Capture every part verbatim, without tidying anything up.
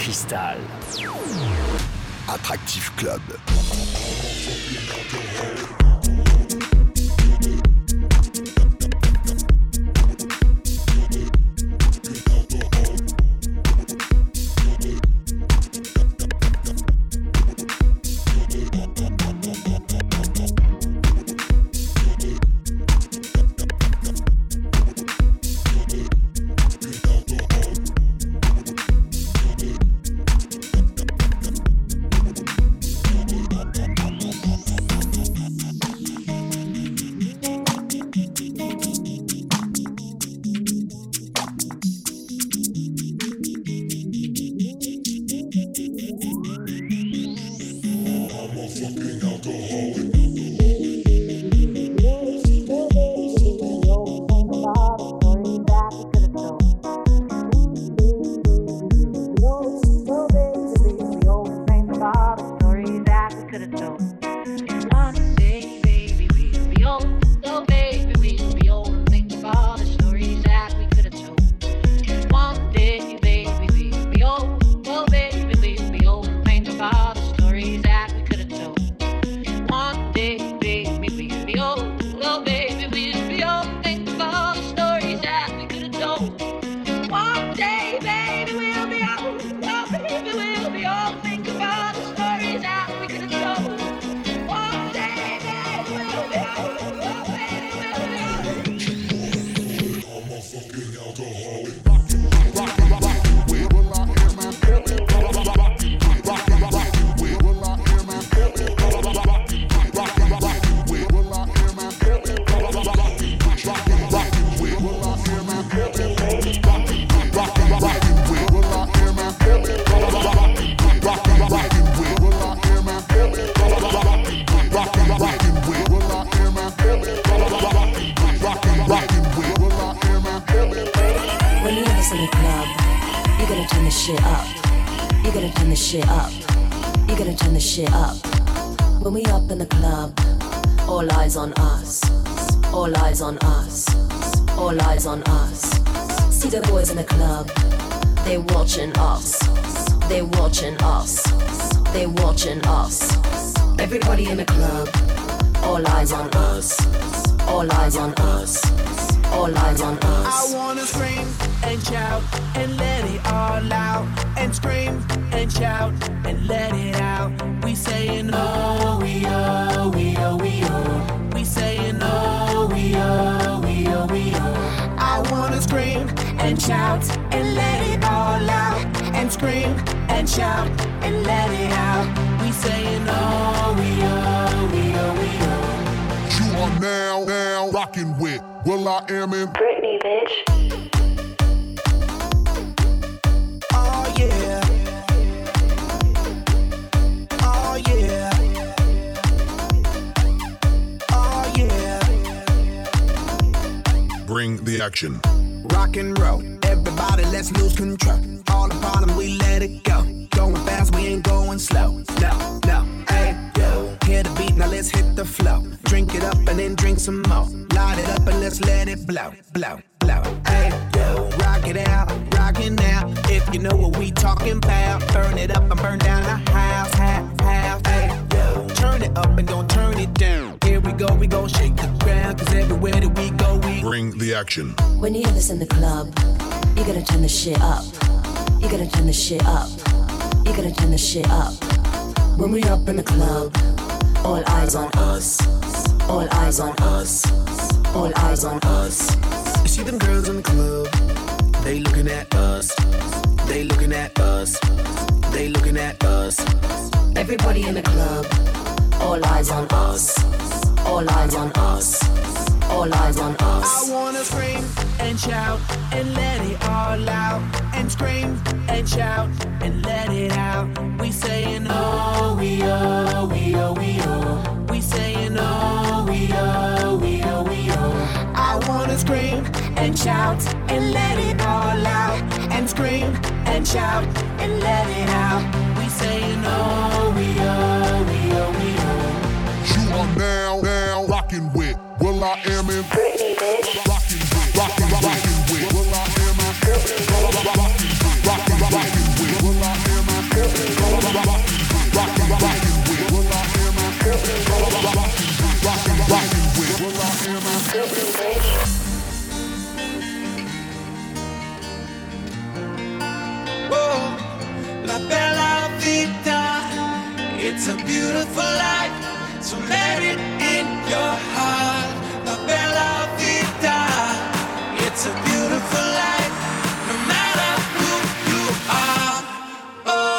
Cristal. Attractive Club. Action. Rock and roll, everybody let's lose control. All the bottom we let it go. Going fast, we ain't going slow. No, no, hey, yo. Hear the beat, now let's hit the flow. Drink it up and then drink some more. Light it up and let's let it blow, blow, blow. Hey, yo. Rock it out, rock it now. If you know what we talking about, burn it up and burn down the house, half, half. Hey, yo. Turn it up and don't turn it down. Here we go, we gon' shake the ground. Cause everywhere that we go, we bring the action. When you hear this in the club, you gotta turn the shit up. You gotta turn the shit up. You gotta turn the shit up. When we up in the club, all eyes on us. All eyes on us. All eyes on us. You see them girls in the club, they looking at us. They looking at us. They looking at us. Everybody in the club, all eyes on us. All eyes on us. All eyes on us. I wanna scream and shout and let it all out. And scream and shout and let it out. We saying oh, we oh, we oh, we oh. We saying oh, we oh, we oh, we oh. I wanna scream and shout and let it all out. And scream and shout and let it out. We saying oh, we oh, we oh, we oh. You are now, now rocking with Will I Am in Britney, bitch. Rocking with, rocking, rocking with Will I Am in Rocking with, rocking, rocking with Will I Am It's a beautiful life, so let it in your heart. La bella vita. It's a beautiful life, no matter who you are. Oh.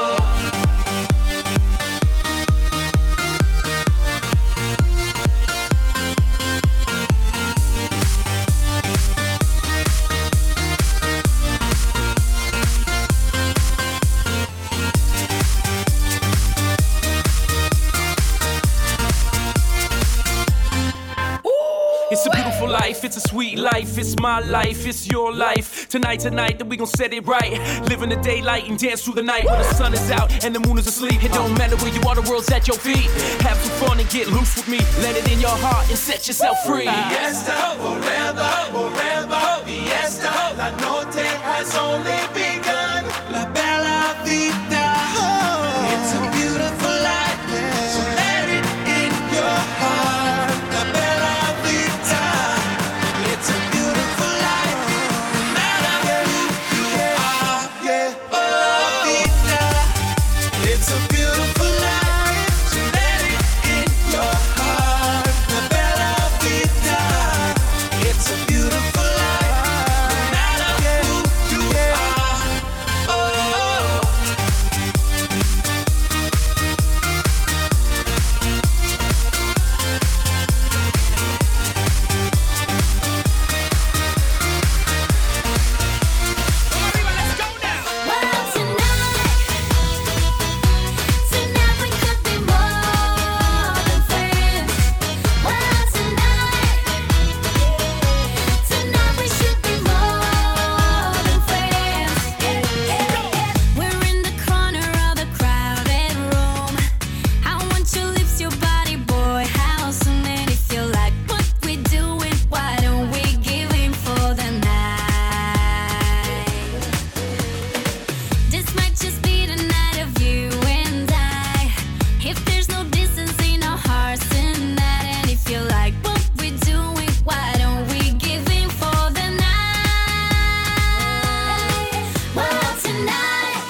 It's a beautiful life, it's a sweet life, it's my life, it's your life. Tonight, tonight, then we gon' set it right. Live in the daylight and dance through the night. When the sun is out and the moon is asleep, it don't matter where you are, the world's at your feet. Have some fun and get loose with me. Let it in your heart and set yourself free. Fiesta, forever, forever, fiesta. La noche has only begun. La bella vita. It's a beautiful life, so let it in your heart. La bella vita. It's a beautiful life, no matter who you are. Yeah, bella vita. It's a beautiful life, so let it in your heart. La bella vita. It's a beautiful life, no matter who you are. Oh. Well, tonight, tonight we could be more than friends. Well, tonight, tonight we should be more than friends. We're in the corner of the crowded room. I want your lips, your body, boy. How soon and if you like what we doing, why don't we give in for the night? This might just be the night of you and I. If there's no distance in our hearts tonight, and if you like what we're doing, why don't we give in for the night? Well, tonight,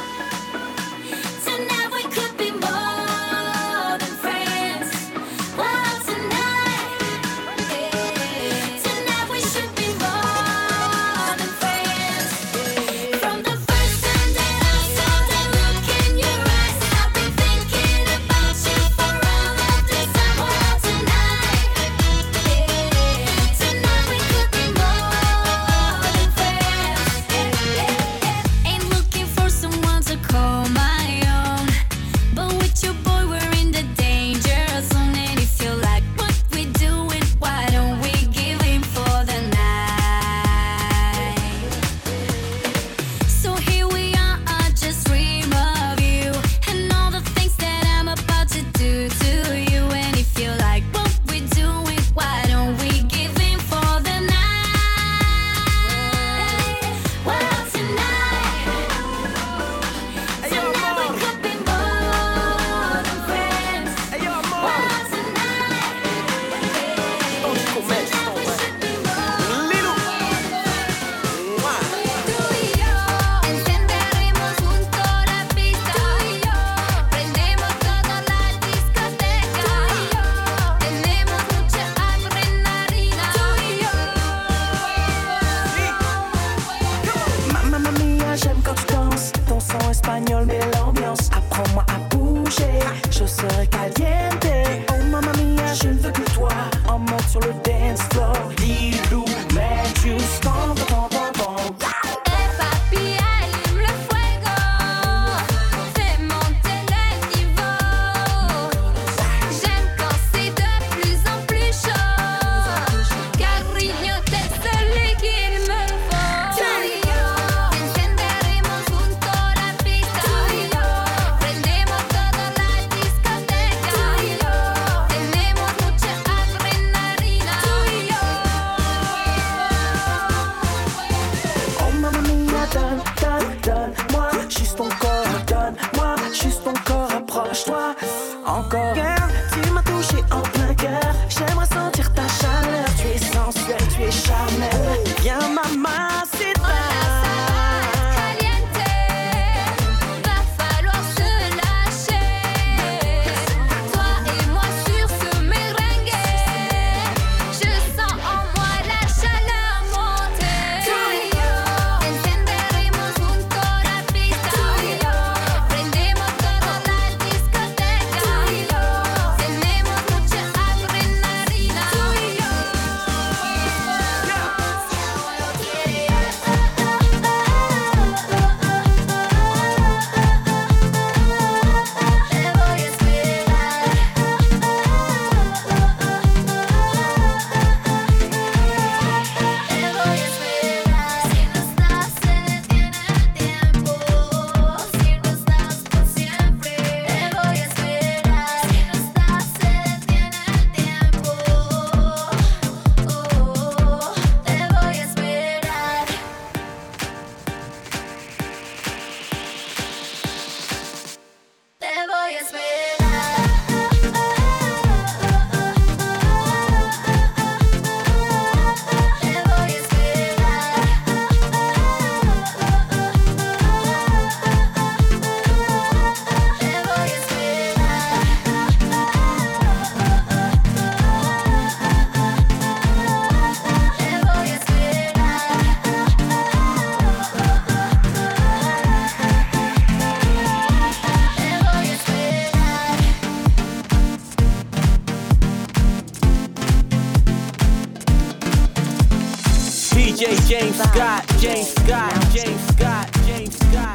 tonight we could be more than friends. Well, tonight, tonight we should be more than friends. From the first time that I saw that look in your eyes, I've been thinking about you for all of this time. Well, tonight, tonight we could be more than friends. Ain't looking for someone to call my own, but with your boy we're in the danger zone. And if you like what we're doing, why don't we give in for the night? So here we are, I just dream of you and all the things that I'm about to do to you. And if you like what we're doing, why don't we give in for the night? Well, tonight, tonight we could be more than friends. Well, tonight, tonight we should be more. Tú y yo encenderemos junto la pista. Tú y yo prendemos toda la discoteca. Tú y yo tenemos mucha adrenalina. Tú y yo. Mamma mia, j'aime quand tu danses. Ton son espagnol met l'ambiance. Apprends-moi à bouger, je serai caliente. Oh mamma mia, je ne veux que toi. En mode sur le dance floor. Dis-nous, mais juste en bon, bon, bon. Eh papi, allume le fuego. Fais monter le niveau. J'aime quand c'est de plus en plus chaud. Cariño, t'es celui qu'il me faut. Tú y yo encenderemos junto la pista. Tú y yo Scott, James Scott, James Scott, James Scott.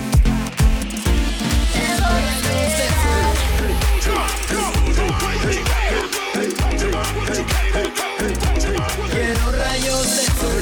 Quiero rayos de sol.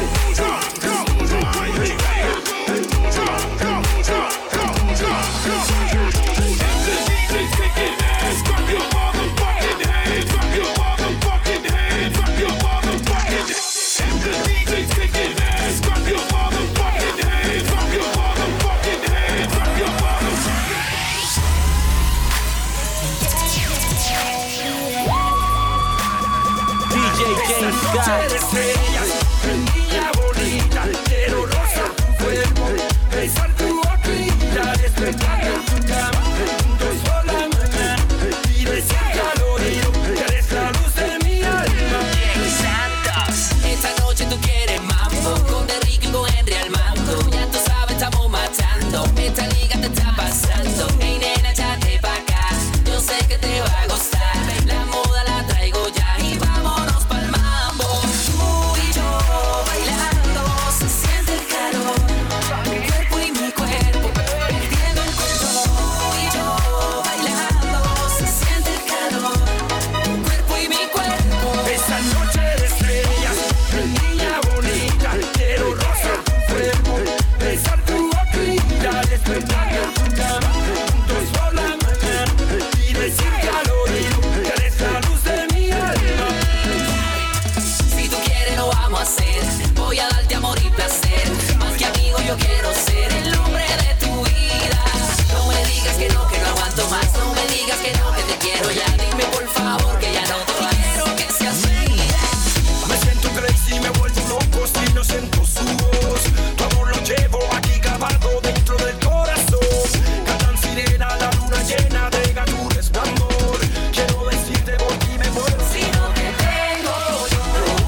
Noche de estrellas, niña bonita, quiero rozar tu cuerpo, besar tu boquita, despertar en tu cama, juntos por la mañana y decir al oído que eres la luz de mi alma. Santos, esta noche tú quieres mambo, con Derrick y con Henry al mando, ya tú sabes estamos matando, esta liga te está pasando, hey nena échate pa' acá, yo sé que te va a gustar, la moda la traigo ya y vámonos pa'l mambo. Tú y yo bailando, se siente el calor, mi cuerpo y mi cuerpo perdiendo el control. Tú y yo bailando, se siente el calor, mi cuerpo y mi cuerpo. Esa noche de estrellas, niña bonita, quiero rozar tu cuerpo, besar tu boquita, despertar en tu cama, juntos por la mañana y decirte al oído que eres la luz de mi alma. Si tú quieres lo vamos a hacer, voy a darte amor y placer, más que amigo yo quiero ser el hombre de tu vida. No me digas que no, que no aguanto más, no me digas que no, que te quiero ya, dime por favor que ya no te quiero que seas feliz. Me siento crazy, me vuelvo loco si no siento su voz. Tu amor lo llevo aquí grabado dentro del corazón. Cantan sirena, la luna llena de tu resplandor. Quiero decirte por ti me muero. Si no te tengo yo,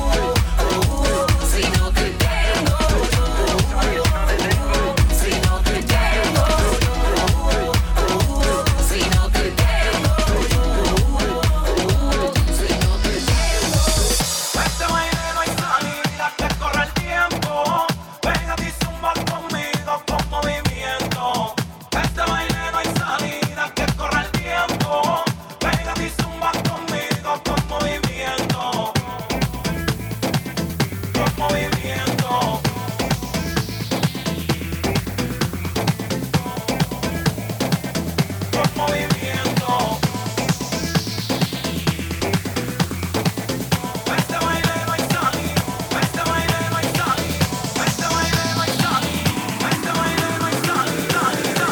si no te tengo yo, si no te tengo yo, si no te tengo yo, si no te tengo. Este baile no hay salida, que corre el tiempo. Ven a ti zumba conmigo con movimiento. Este baile no hay salida, que corre el tiempo. Ven a ti zumba conmigo con movimiento. Con movimiento. Con movimiento. Este baile no hay salida, este baile no hay salida, este baile no hay salida, este baile no hay salida,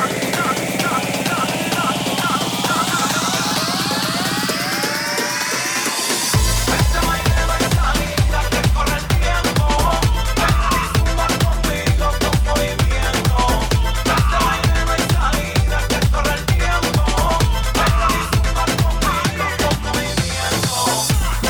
este baile no hay salida, que corre el tiempo, ven a zumbar conmigo con movimiento. Este baile no hay salida, que corre el tiempo, ven a zumbar conmigo con movimiento.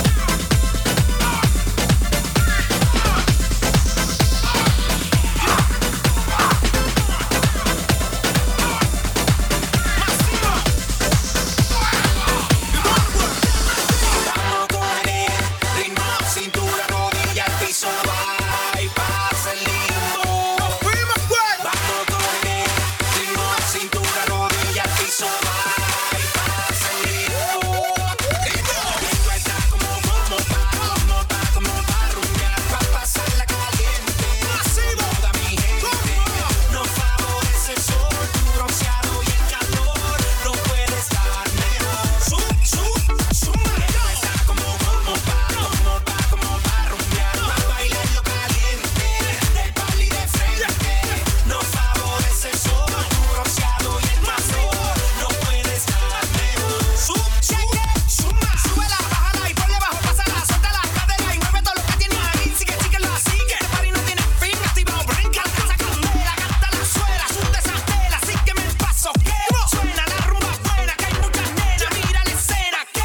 Vamos con el ritmo, cintura, rodilla, al piso, va y pasa el limbo. Vamos con el ritmo, cintura, rodilla, al piso, va y pasa el limbo. Esto está como como pa, como pa, como pa rumbear, pa pasarla caliente. Toda mi gente no favorece el sol, tu bronceado y el calor no puede estar mejor. Sub, sub, suma. Esto está como como pa, como pa, como pa rumbear, pa bailarlo caliente, de pal y de frente. No favorece el sol, tu bronceado y el calor no puede estar mejor. Sub, cheque, suma. Súbela, bájala y ponle bajo, pásala, suelta las caderas y mueve todo lo que tienes ahí. Sigue, sigue, lo sigue. El party no tiene fin, activado, brinca, alcanza candela, canta la suela, sube esa tela, sígueme el paso, que suena la rumba buena, que hay muchas nenas, mira la escena, que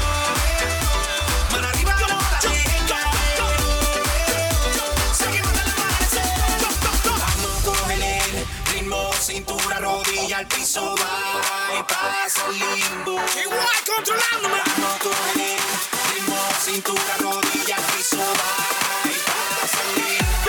mano arriba como la chica, seguimos en el amanecer. Vamos con el ritmo, cintura, rodilla, al piso, va y pasa el limbo. Igual controlándome. Vamos con el ritmo, cintura, rodilla, al piso, va y pasa el limbo.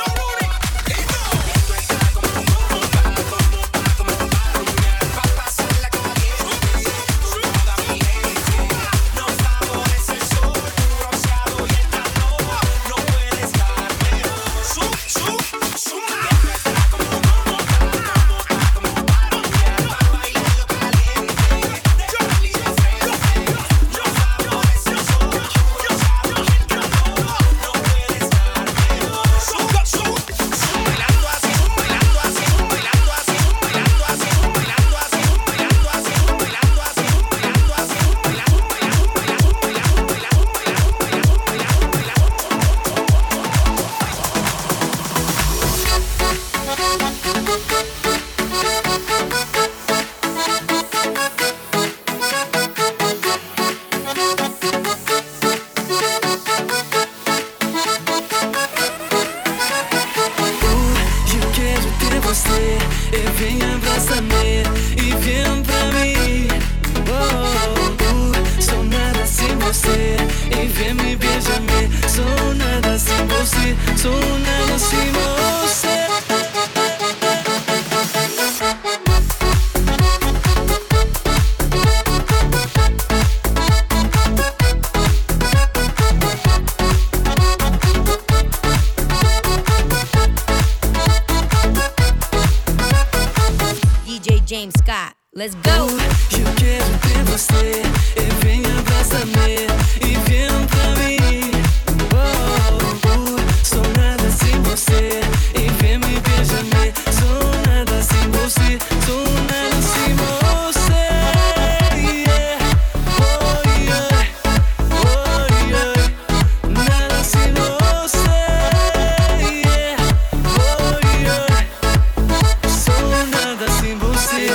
Let's go! Eu quero ter você, e vem abraça-me, e vem pra mim. Oh, oh, sou nada sem você, e vem me beija-me. Sou nada sem você, sou nada sem você. Yeah. Oh, yeah. Oh, yeah. Nada sem você. Yeah. Oh, yeah. Sou nada sem você.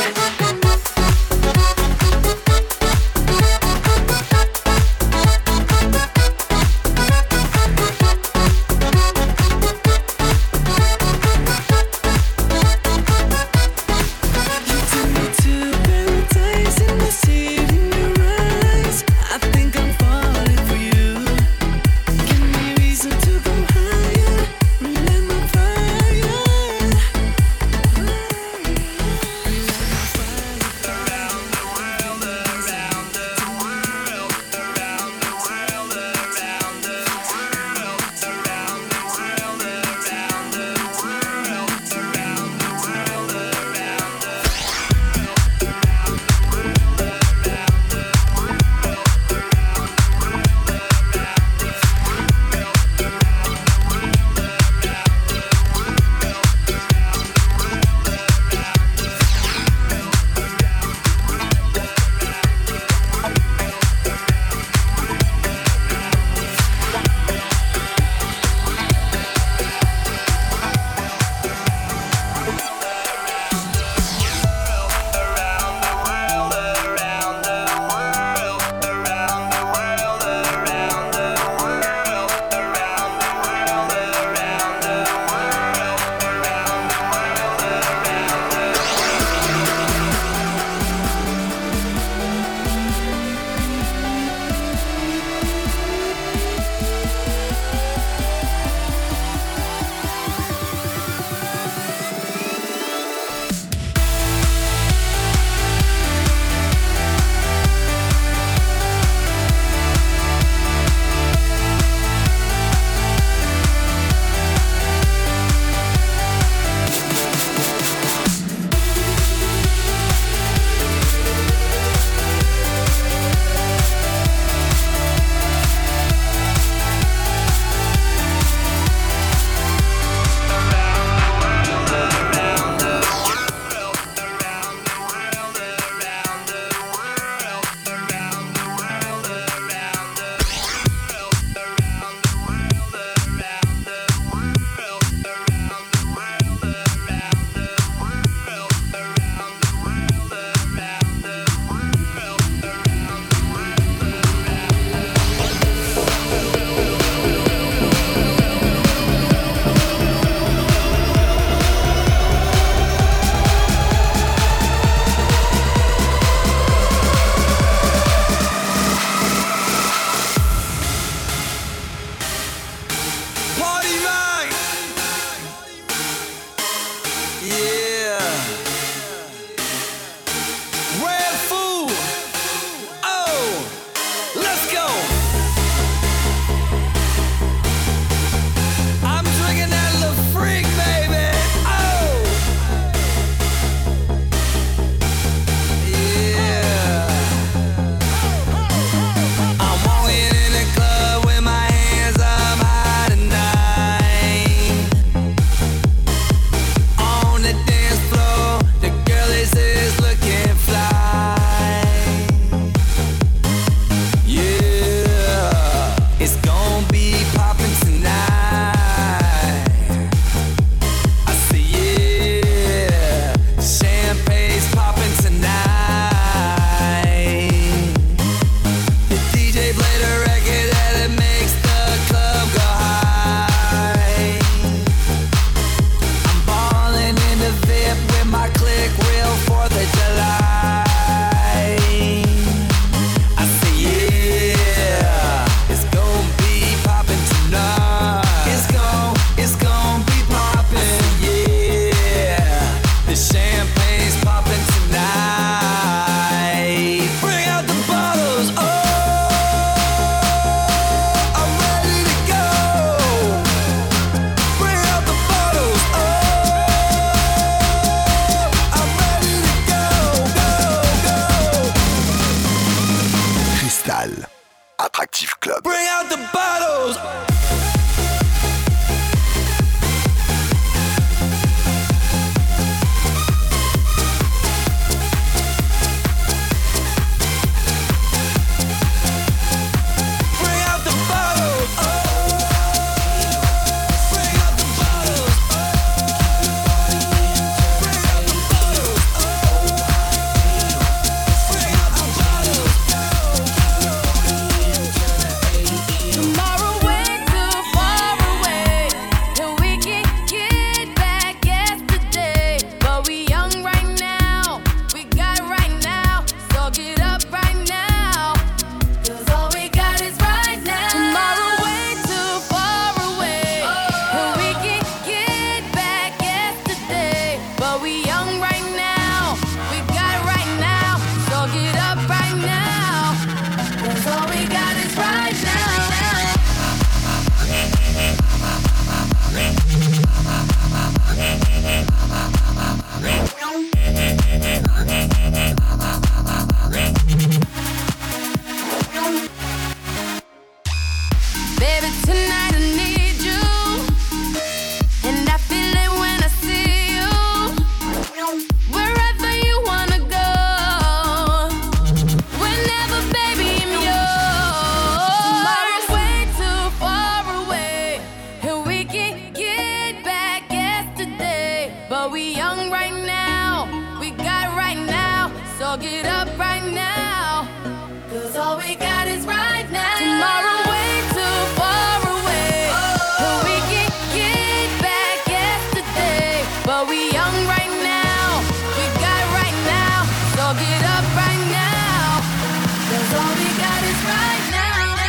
But we young right now, we got right now. So get up right now, 'cause all we got is right now. Tomorrow way too far away, but we can get back yesterday. But we young right now, we got right now. So get up right now, 'cause all we got is right now.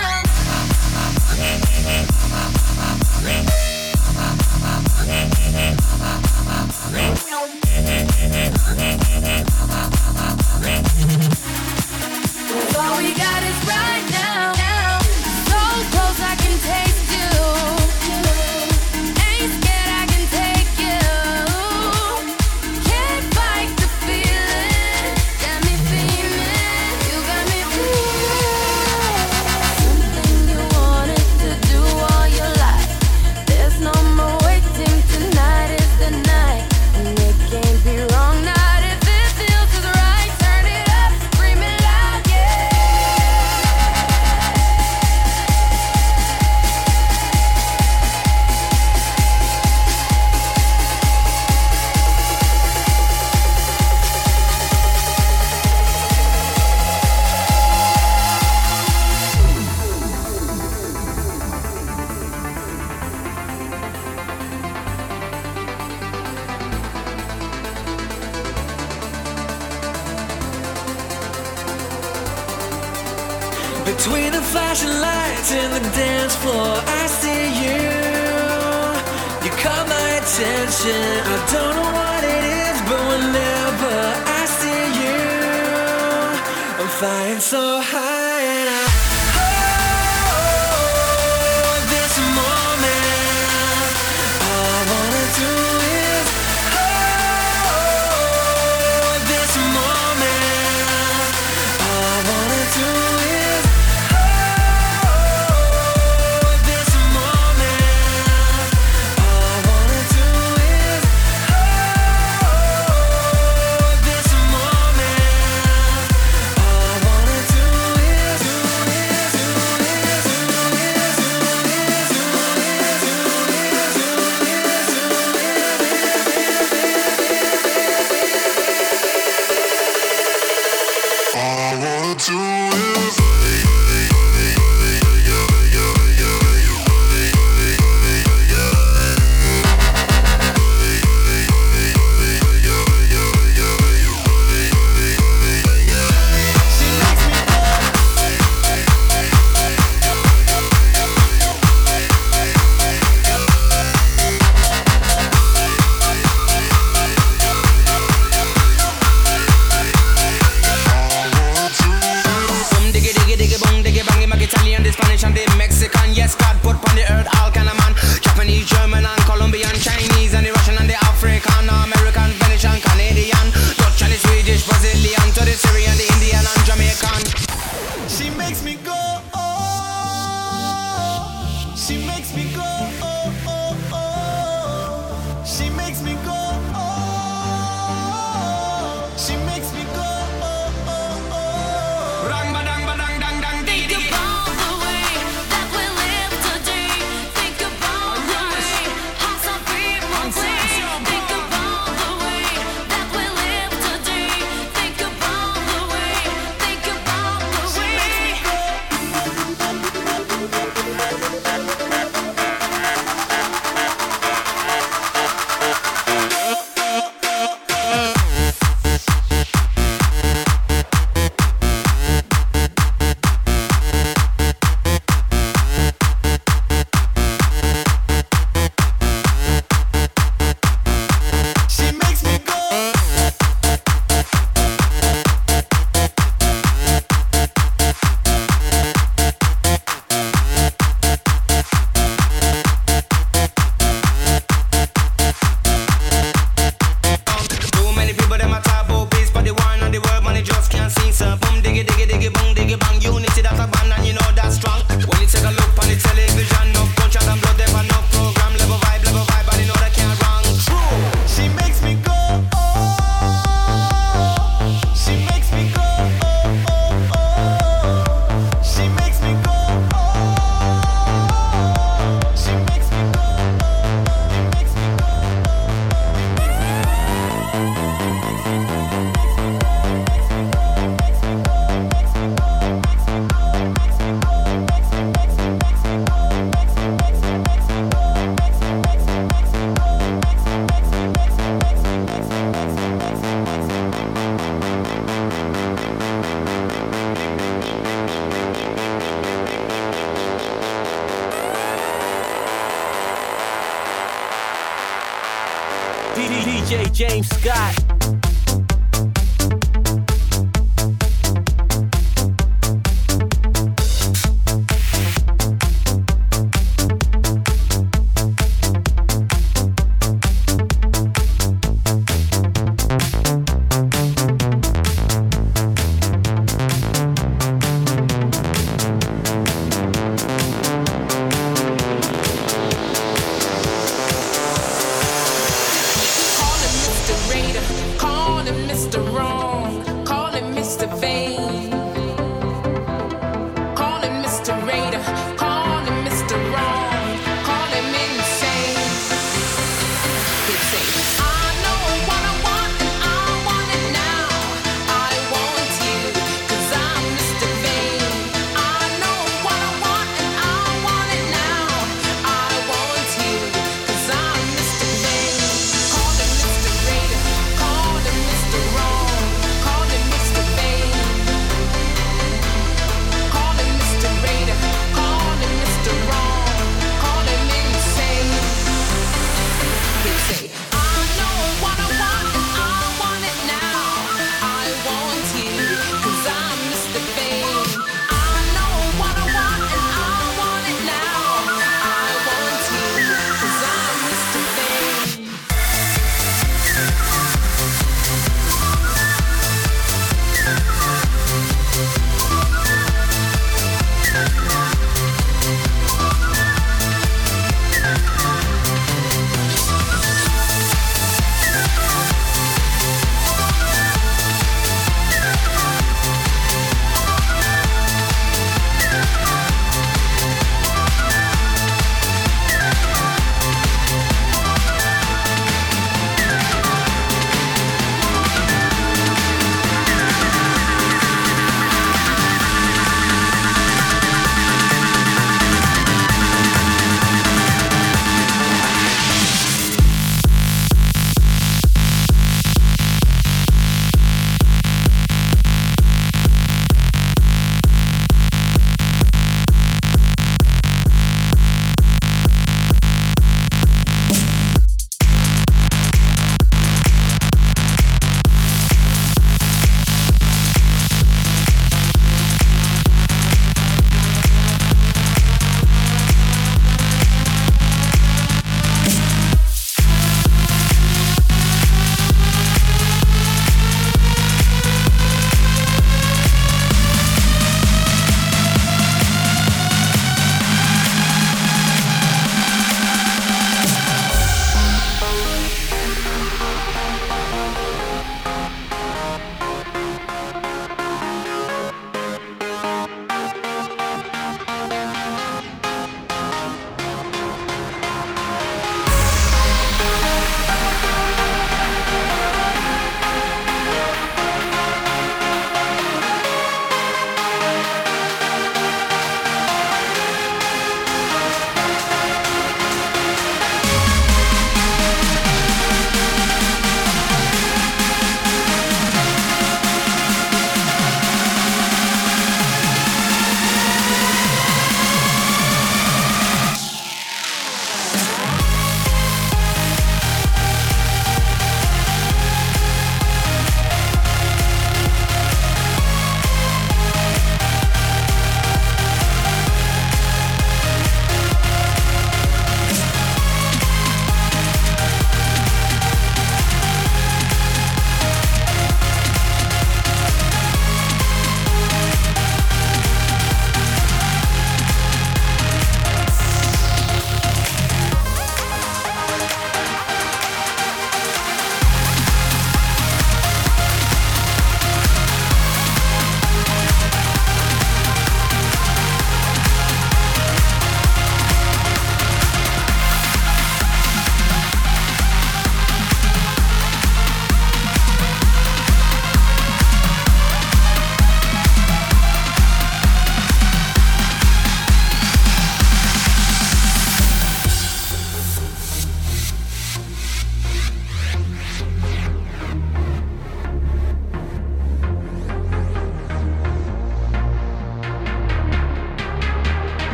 All we got is right now. So close I can taste you. Ain't scared I can take you. Can't fight the feeling. Got me feeling. You got me feeling. Something you wanted to do all your life. There's no more waiting. Tonight is the night, and it can't be wrong. Not if it feels just right. Turn it up, scream it loud, yeah. Between the flashing lights and the dance floor, I see you. You caught my attention. I don't know what it is, but whenever I see you, I'm flying so high and I hold this moment. All I wanna do is hold this moment. All I wanna do is hold this moment. All I wanna do is hold this moment. All I wanna do is D J James Scott. Call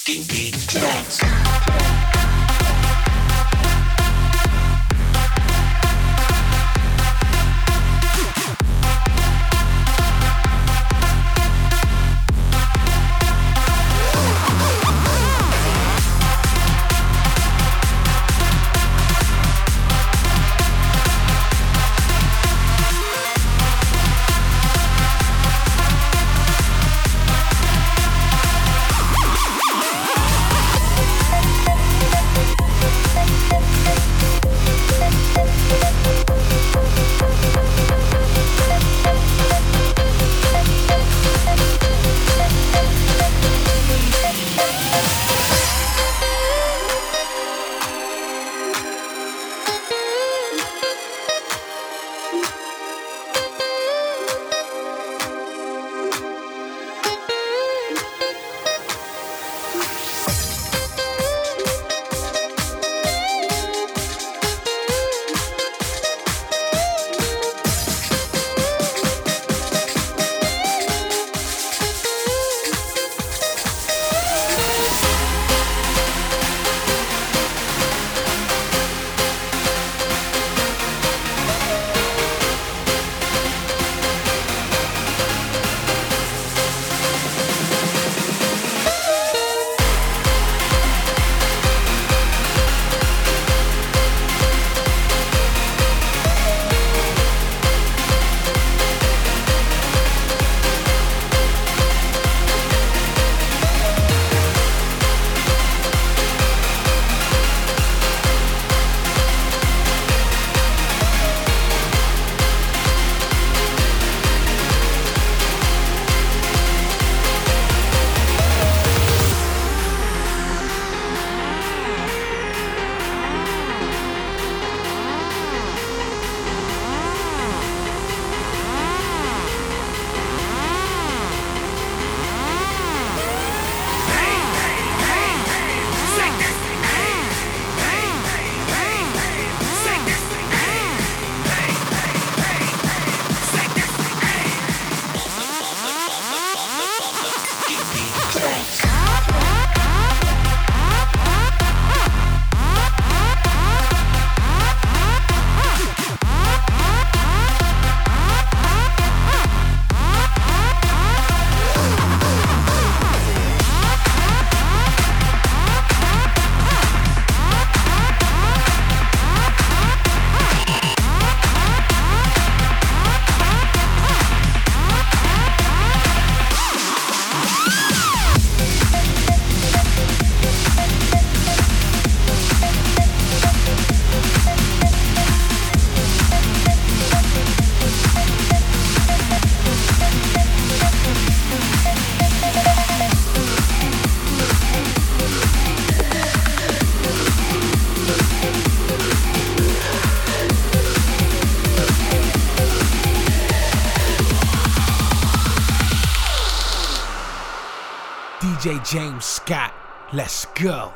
Kinky Jones. D J James Scott, let's go.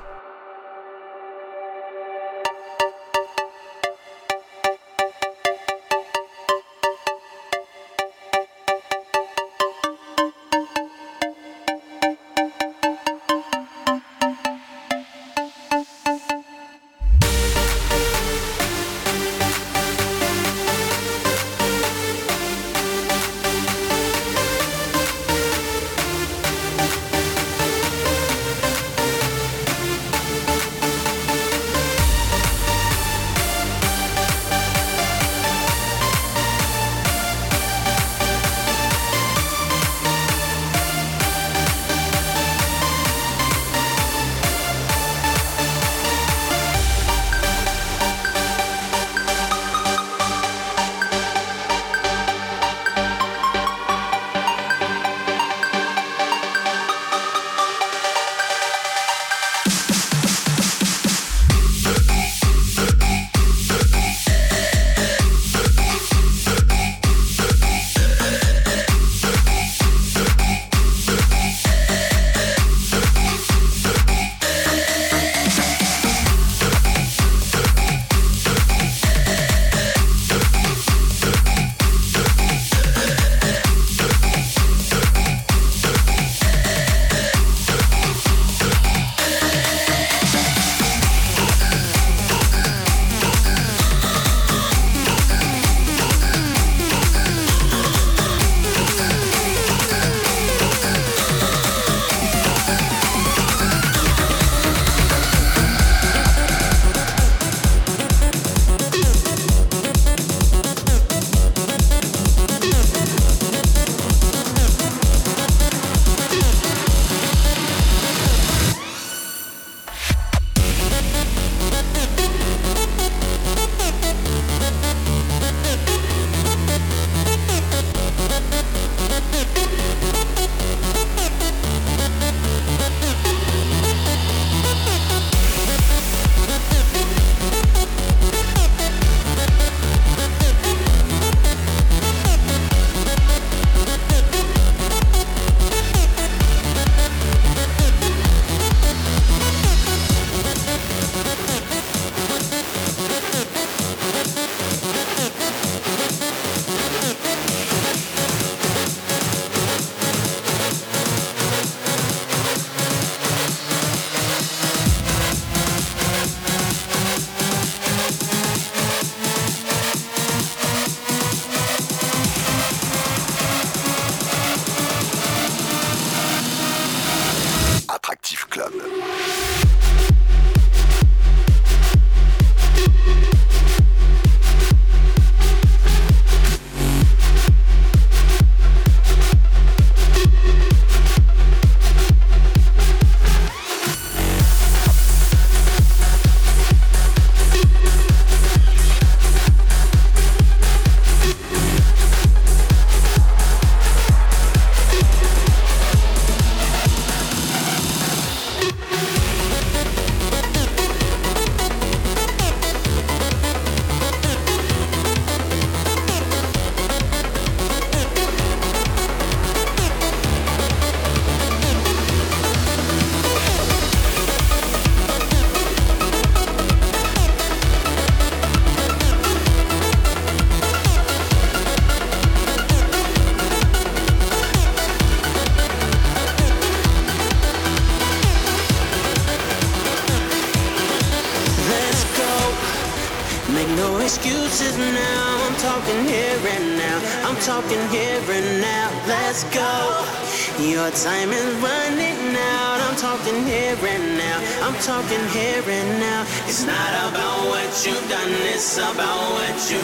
no excuses now. I'm talking here and now. I'm talking here and now. Let's go. Your time is running out. I'm talking here and now. I'm talking here and now. It's not about what you've done, it's about what you're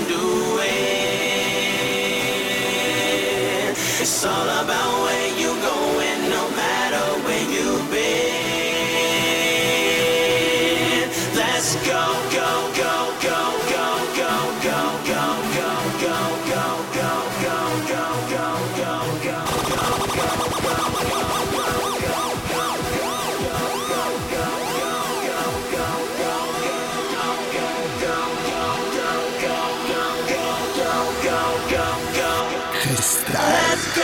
doing. It's all about where you're going, no matter where you've been. Let's go, go, go, go, go, go, go, go, go, go, go, go, go, go, go, go, go, Let's go.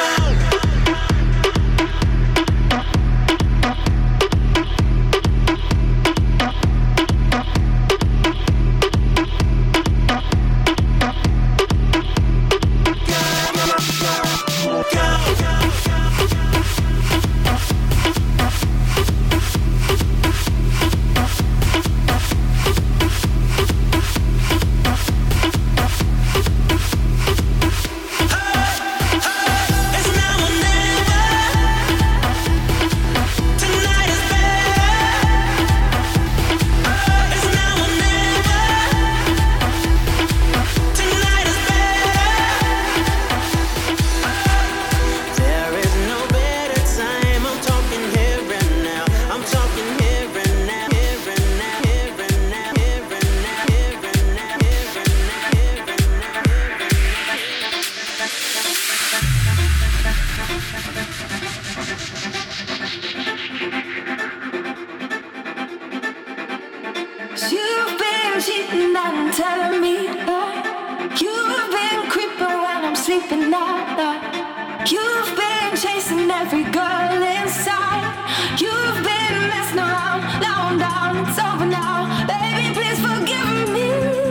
You've been cheating and telling me that. You've been creeping while I'm sleeping now. You've been chasing every girl inside. You've been messing around. Now I'm down, it's over now. Baby, please forgive me.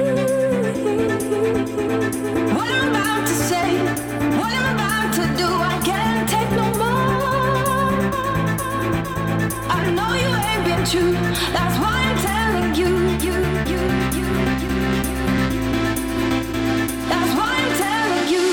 What I'm about to say, what I'm about to do, I can't take no more. I know you ain't been true, that's why I'm telling you, you, you, you, you. That's why I'm telling you.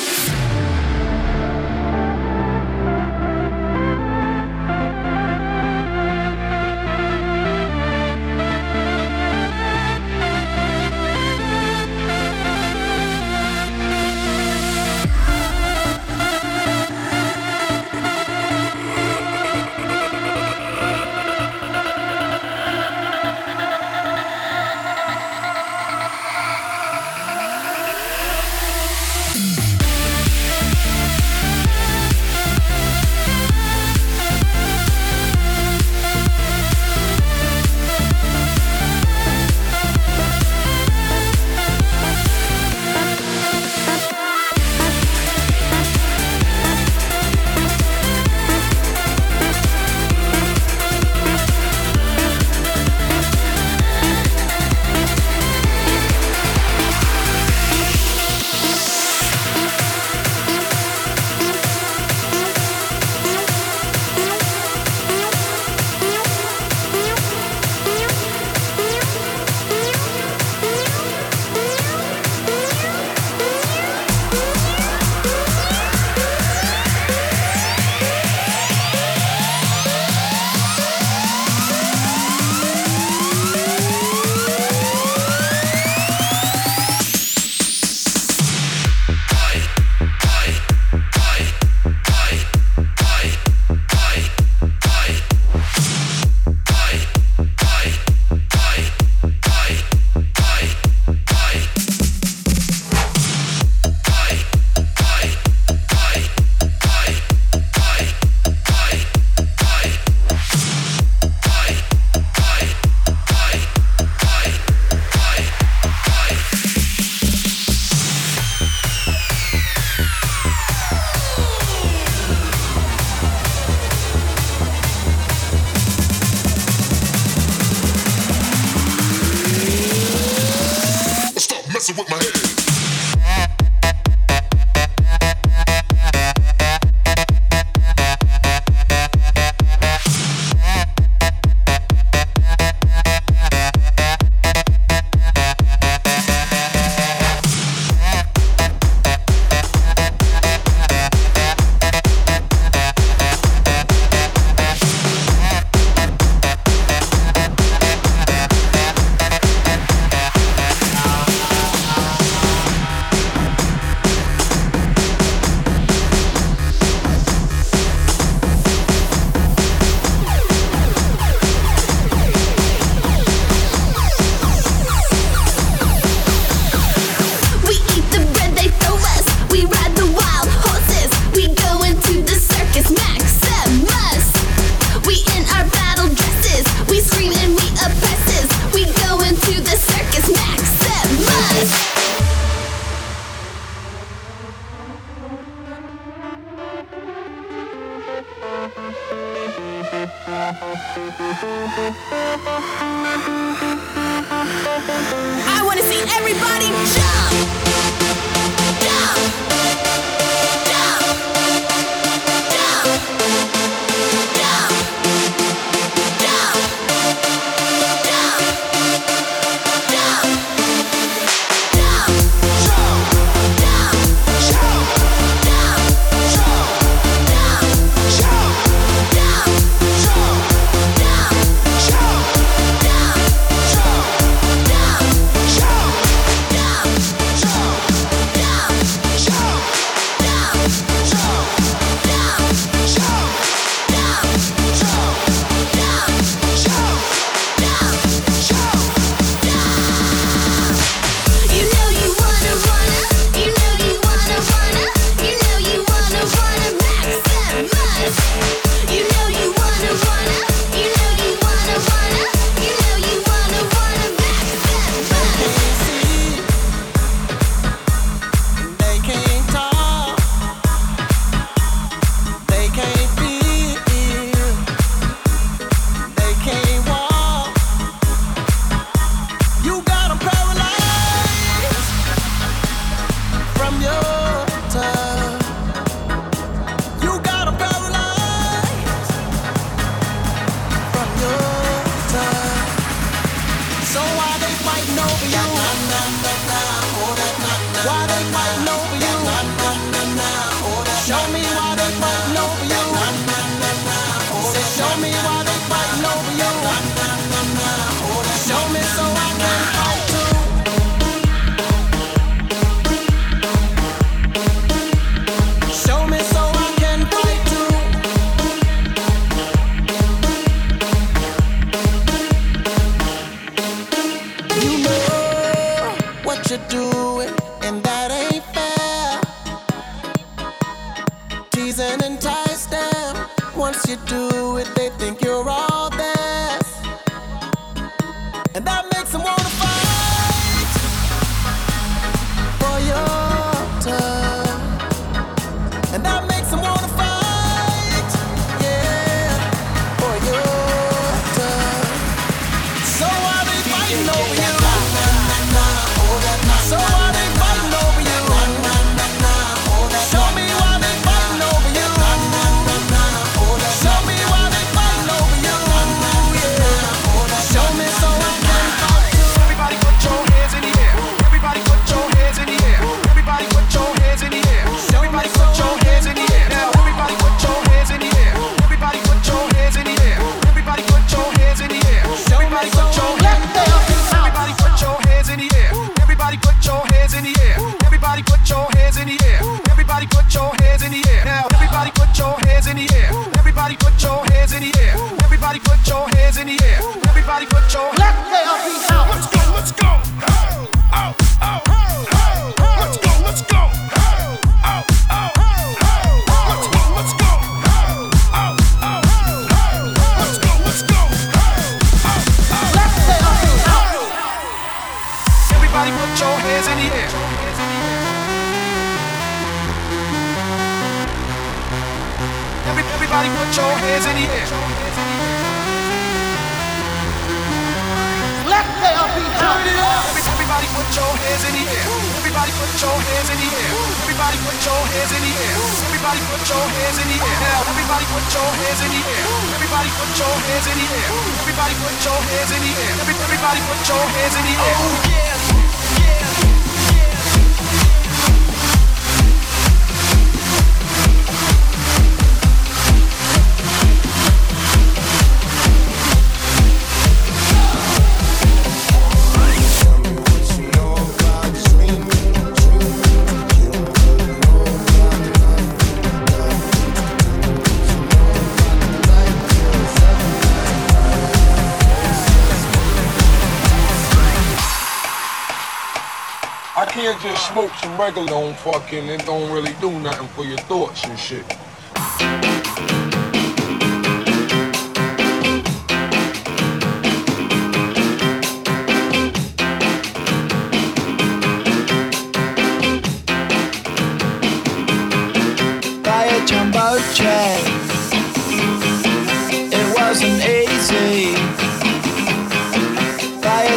messing with my head. I wanna see everybody jump, jump, jump, jump, jump, jump, jump, jump, jump, You know you wanna wanna, you know you wanna wanna, you know you wanna wanna maximize. You know you wanna wanna, you know you wanna wanna, you know you wanna wanna maximize. They can't talk, they can't feel, they can't walk. You got 'em paralyzed from your touch. You got 'em paralyzed from your touch. So why they fighting over you? Why they fighting over you? Show me why they fighting over you. Say, show me why they fighting over you. Show me so I can fight too. Show me so I can fight too. You know what you're doing, and that ain't fair. Tease and entice them. Once you do it, they think you're all theirs, and that makes them wanna fight for your touch, and that makes them wanna fight, yeah, for your touch. So why they fighting over you? So why they fighting over you? Show me why they fighting over you. Show me why they fighting over you. Yeah. Show me so I can fight too. Everybody put your hands in the air. Everybody put your hands in the air. Everybody put your hands in the air. Everybody put your hands in the air. Now everybody put your hands in the air. Everybody put your hands in the air. Everybody put your hands in the air. Everybody put your hands in the air. Everybody put your hands in the air. Everybody put your hands in the air. Everybody put your hands in the air. Everybody put your hands in the air. Now everybody put your hands in the air. Everybody put your hands in the air. Everybody put your hands in the air. Everybody put your Let there be house. Let's go, let's go. Oh, oh, oh. Let's go, let's go. Oh, oh, oh. Let's go, let's go. Oh, oh, oh. Let's go, let's go. Oh, oh, Let there be house. Everybody put your hands in the air. Every, everybody put your hands in the air. Let there be house. Every, everybody put your hands in the air. Everybody put your hands in the air. Everybody put your hands in the air. Everybody put your hands in the air. Now everybody put your hands in the air. Everybody put your hands in the air. Everybody put your hands in the air. Every, everybody put your hands in the air. Oh yeah. I can't just smoke some regular, don't fucking, it don't really do nothing for your thoughts and shit. By a jumbo jet, it wasn't easy.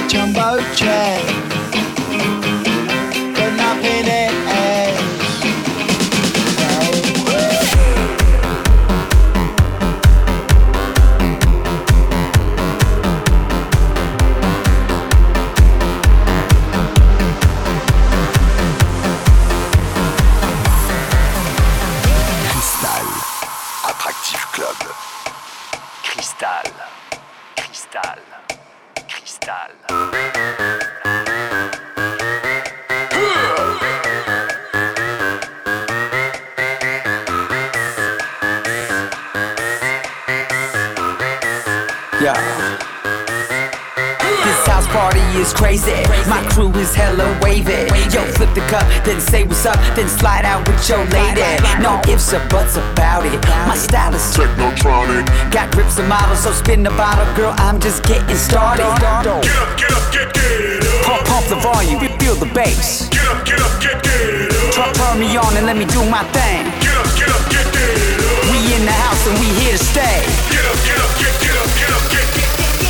Chamboche. Con la P D E. Cristal, Attractive Club. Cristal, Cristal, Cristal. Yeah. This house party is crazy. My crew is hella wavy. Yo, flip the cup, then say what's up, then slide out with your lady. No ifs or buts about it. My style is technotronic. Got grips and models, so spin the bottle, girl. I'm just getting started. Get up, get up, get get up. Pump, pump the volume, feel the bass. Get up, get up, get get up. Turn, turn me on and let me do my thing. Get up, get up, get get up. We in the house and we here to stay. Get up, get up, get get up, get up, get get.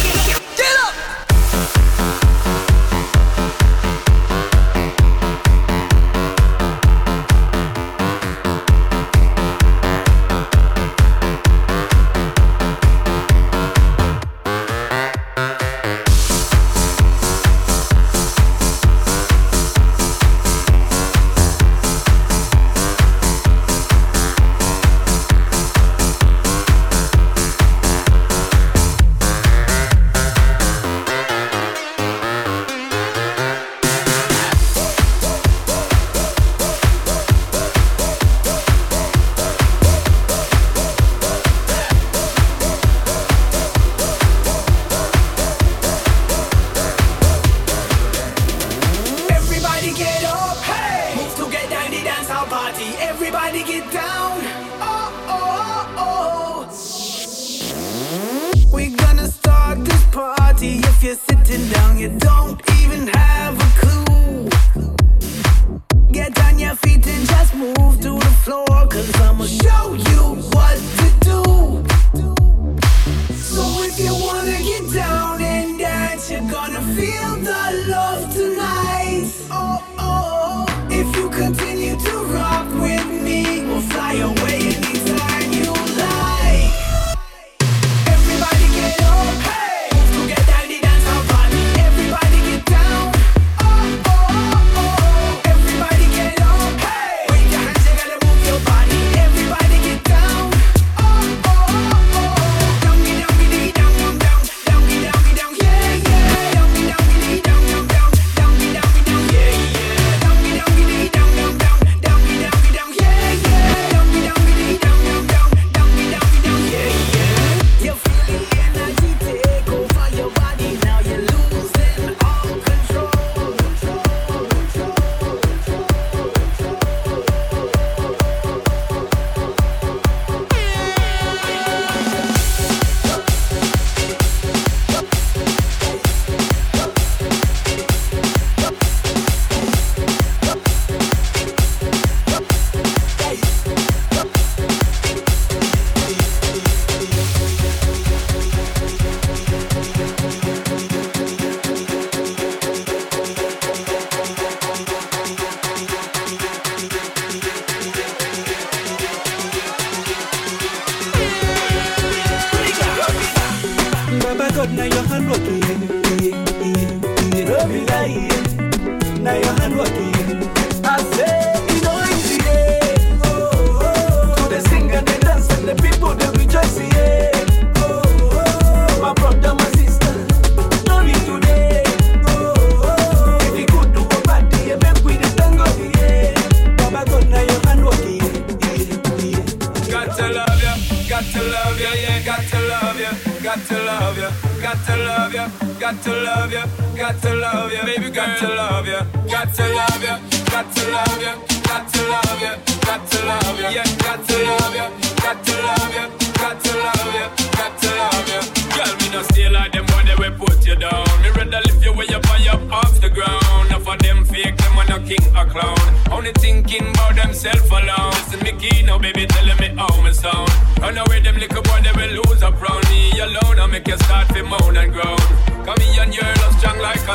Run away them little boy, they will lose up round me alone. I make you start to moan and groan. Come here and you're lost strong like a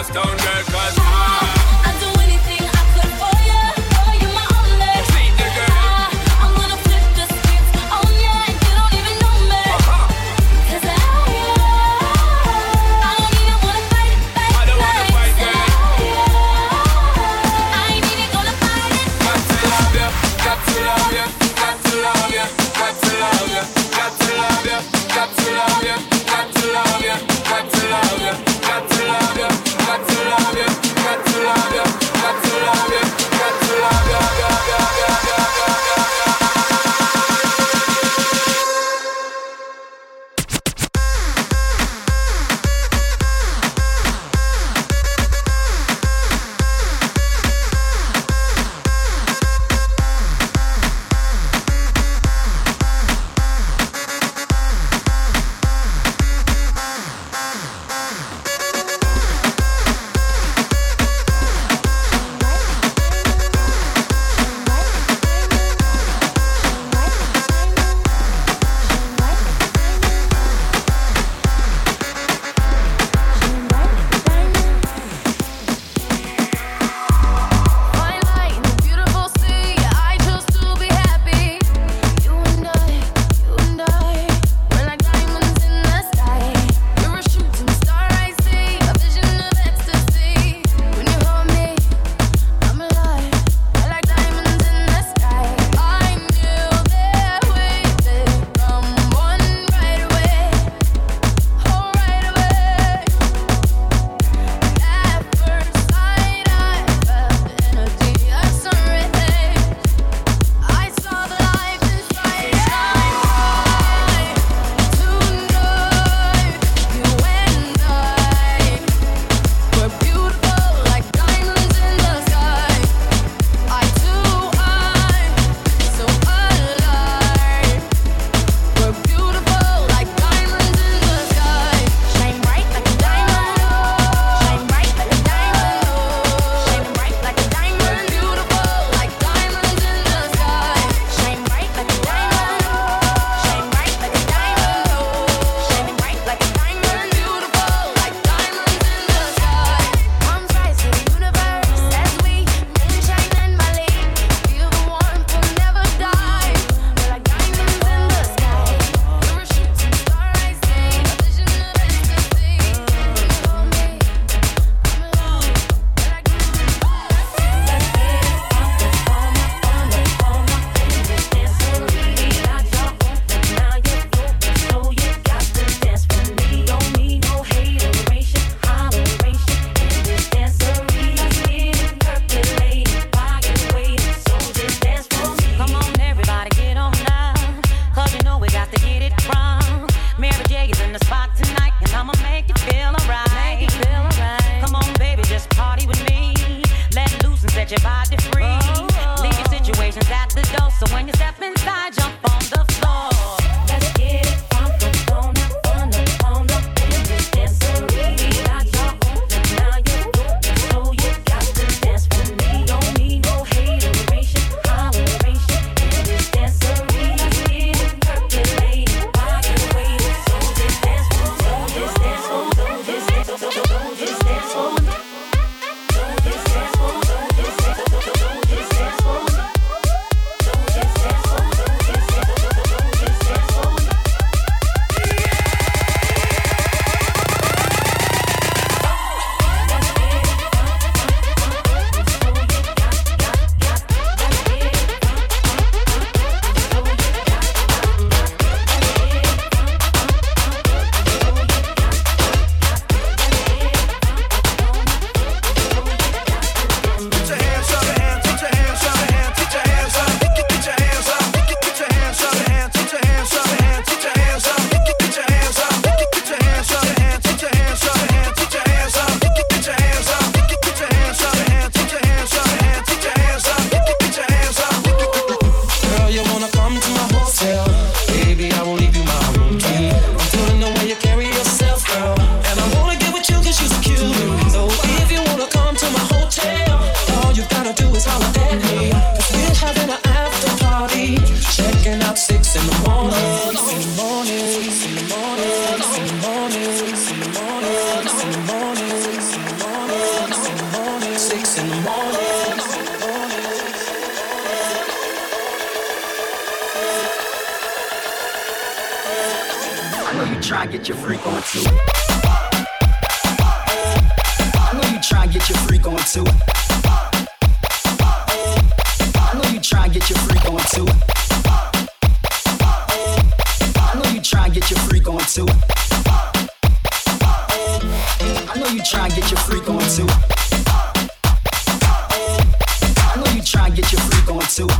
set your body free. Leave your situations at the door, so when you step inside, jump on the floor. Let's get it pumped up on up, on up, on up in this dancery. Got your open, now you're open, so you got to dance with me. Don't need no hateration, holleration in this dancery. Let's get it percolating, body waiting, so this dance for, so this dance for, so this dance for, so this dance for. Try and get your freak on too. I know you try and get your freak on too. I know you try and get your freak on too. I know you try and get your freak on too. I know you try and get your freak on too. I know you try and get your freak on too.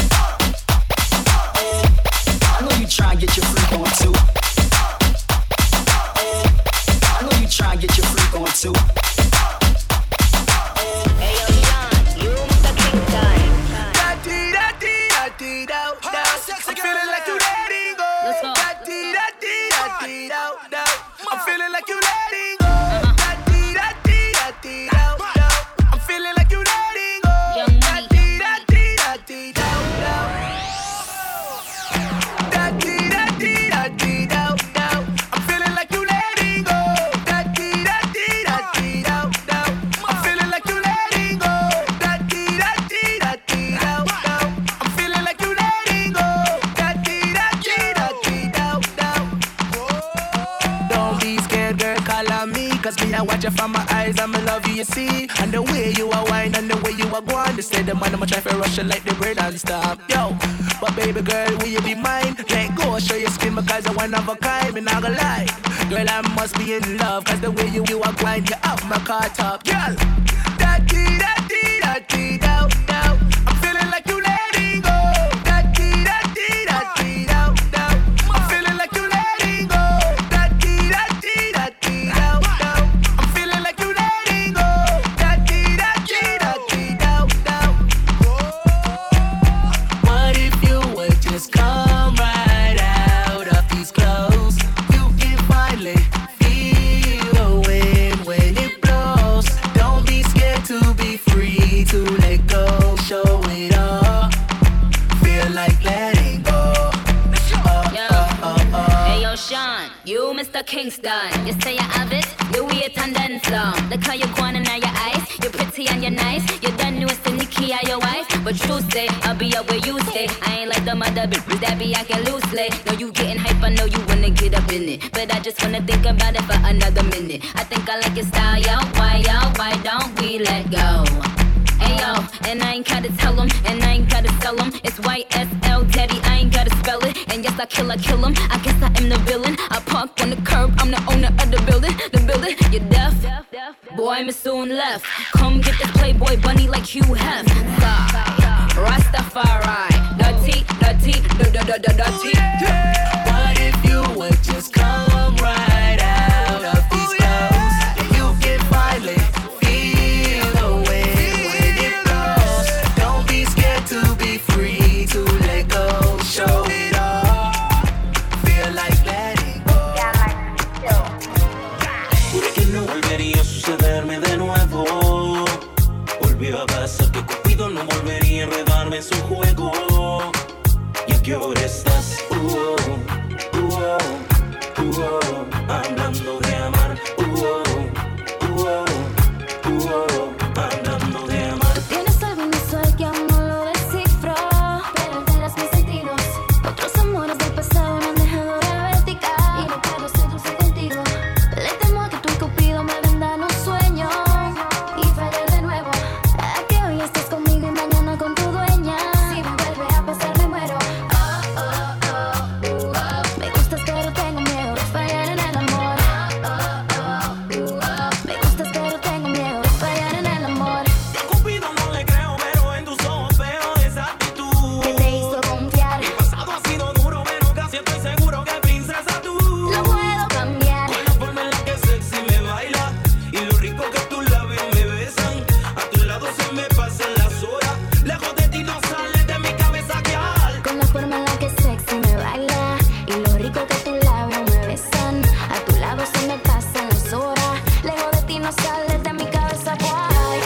I know you try and get your freak on too. Try and get your freak on too. Hey yo, Sean, you Mister Kingston. Da dee da dee da dee da da. I'm feeling like you letting go. Let's go. Da dee da dee da dee da da. I'm feeling like you letting go. Da dee da dee da dee da da. I'm feeling like you letting go. Da dee da dee da dee da da. Da dee da dee da dee da da. I'm feeling like you letting go. Cause me, I watch you from my eyes, I'm in love you, you see. And the way you are wine and the way you are going. They say the man, I'ma try to rush you like the brain and stop. Yo, but baby girl, will you be mine? Let go, show your skin because you're one of a kind. Me not gonna lie, girl, I must be in love. Cause the way you, you are grind, you up my car top. Girl, da dee da dee da dee da da. I'm feeling like you letting go. Da dee da dee da dee da da. I'm feeling like you letting go. Da dee da dee da dee da da. I'm feeling like you letting go. Da dee da dee da dee da da. What if you would just come right out of these clothes? You can finally feel the wind when it blows. Don't be scared to be free, to let go, show it all. Feel like letting go. Oh, Yo. oh, oh, oh. Hey yo, Sean, you Mister Kingston. You say you have it, you wait and then some. Look how you going in your eyes. You're pretty and you're nice. You done know it's the Nikki or your wife. But true say, I'll be up where you stay. I ain't like the mother bitches that be acting loosely. No, you getting hype, I know you wanna get up in it. But I just wanna think about it for another minute. I think I like your style, yo. Why, yo? Why don't we let go? Ayo, and I ain't gotta tell him, and I ain't gotta sell him. It's Y S L, daddy, I ain't gotta spell it. And yes, I kill, I kill him. I guess I am the villain. I park on the curb, I'm the owner of the building. The building, you're deaf. Boy, me soon left. Come get this Playboy bunny like Hugh Hef. Sigh, Rastafari. Dirty, dirty, dirty, dirty. What if you would just come right out of these clothes? You can finally feel the wind when it blows. volvería a sucederme de nuevo. Volvió a pasar que Cupido no volvería a enredarme en su juego. ¿Y a qué hora estás? Uh, oh, uh, oh, uh, oh, hablando de amar. Uh, oh, uh, oh, uh, oh, hablando de amar. Tienes algo inusual que aún no lo descifro, pero alteras mis sentidos. Otros amores del pasado me han dejado diabética y no puedo ser dulce contigo. Le temo a que tú y Cupido me vendan un sueño y fallar de nuevo. A que hoy estés conmigo y mañana con tu dueña. Si me vuelve a pasar me muero. Oh, oh, oh, uh, oh. Me gustas pero tengo miedo de fallar en el amor. Oh, oh, oh, uh, oh. Me gustas pero tengo miedo de fallar en el amor. A Cupido no le creo, pero en tus ojos veo esa actitud Que te hizo confiar. Mi pasado ha sido duro, pero casi estoy seguro que princesa tú Lo puedo cambiar. con la forma en la que sexy me baila y lo rico que tus labios me besan. A tu lado se me pasan las horas, lejos de ti no sales de mi cabeza, girl. Con la forma en la que sexy me baila y lo rico que tus labios me besan. A tu lado se me pasan las horas, lejos de ti no sales de mi cabeza, boy.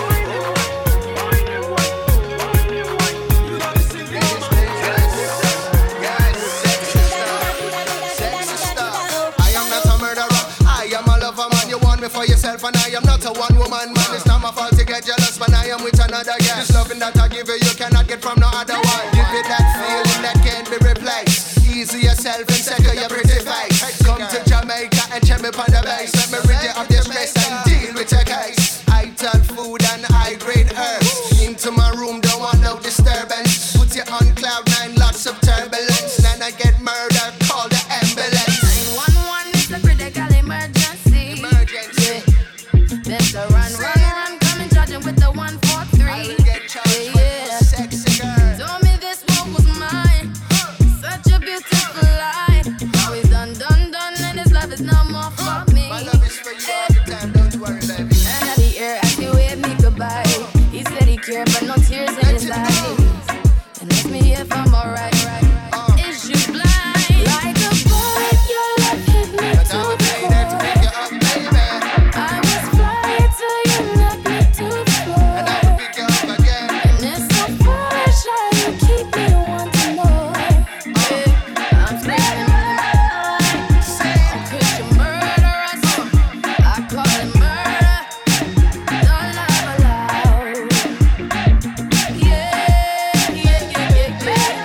I am not a murderer, I am a lover man. You want me for yourself and I am not a one woman man. It's not my fault to get jealous when I am with another girl. This loving that I give you, you cannot get from no other one. Give you that feeling that can't be replaced. Easy yourself and second your pretty face. Come to Jamaica and check me on the base. Let me rid you of your stress and deal with your case. I tell food and I grade herbs. Into my room, don't want no disturbance. Put you on cloud nine, lots of turbulence. Then I get murdered, call the ambulance. nine one one is the critical emergency. Emergency. Better run, run, run, come and charge him with the one four three. I will get charged for you, sexy girl. Told me this one was mine. Such a beautiful life. Now he's done, done, done, and his love is no more for me. My love is for you all the time, don't worry, baby. And at the air, as he waved me goodbye, he said he cared, but no tears in his eyes. And asked me if I'm alright. Is you blind? Like a bullet, your love hit me to the core. I was flying till you knocked me to the floor. And I will pick you up again. And it's so foolish how you keep me wanting more. Yeah, I'm screaming, I'm Christian murderers. I call it murder. Don't love aloud. Yeah, yeah, yeah, yeah, yeah,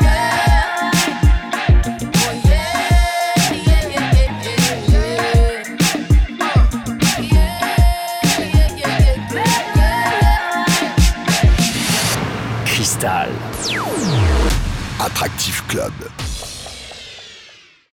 yeah. Oh yeah, yeah, yeah, yeah, yeah, yeah. Uh, yeah, yeah, yeah, yeah, yeah, yeah. Cristal. Attractive Club.